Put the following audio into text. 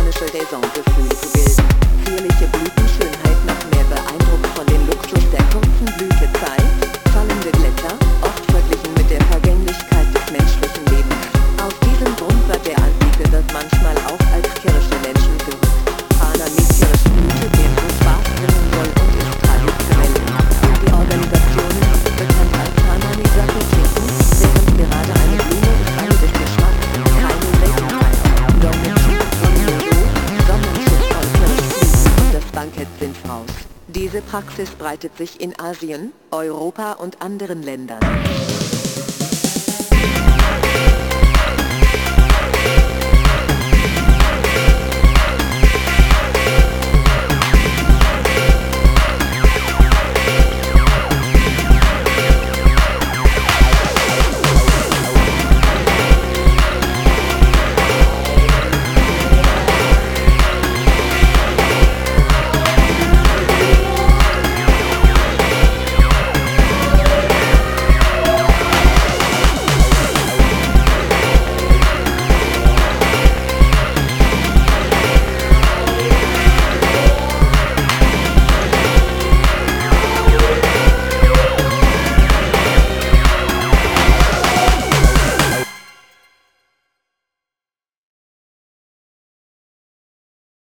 afrikanische Saisongefühl zu bilden. Zierliche Blütenschönheit noch mehr beeindruckt von dem Luxus der kurzen Blütezeit, fallende Blätter, oft verglichen mit der Vergänglichkeit des menschlichen Lebens. Aus diesem Grund wird der Antike wird manchmal auch als Kirsche Menschen gerückt. Fana mit Kirschblüte, der so Spaß bringen soll und ist traditionell. Die Organisation ist bekannt als Fana-Nisaki-Trinken, während gerade eine Blume ist eine des Geschmacks, keine Seltenheit. Donnerschutz von Jodo, Sonnenschutz von Kirschblüten und das Bankett sind raus. Diese Praxis breitet sich in Asien, Europa und anderen Ländern.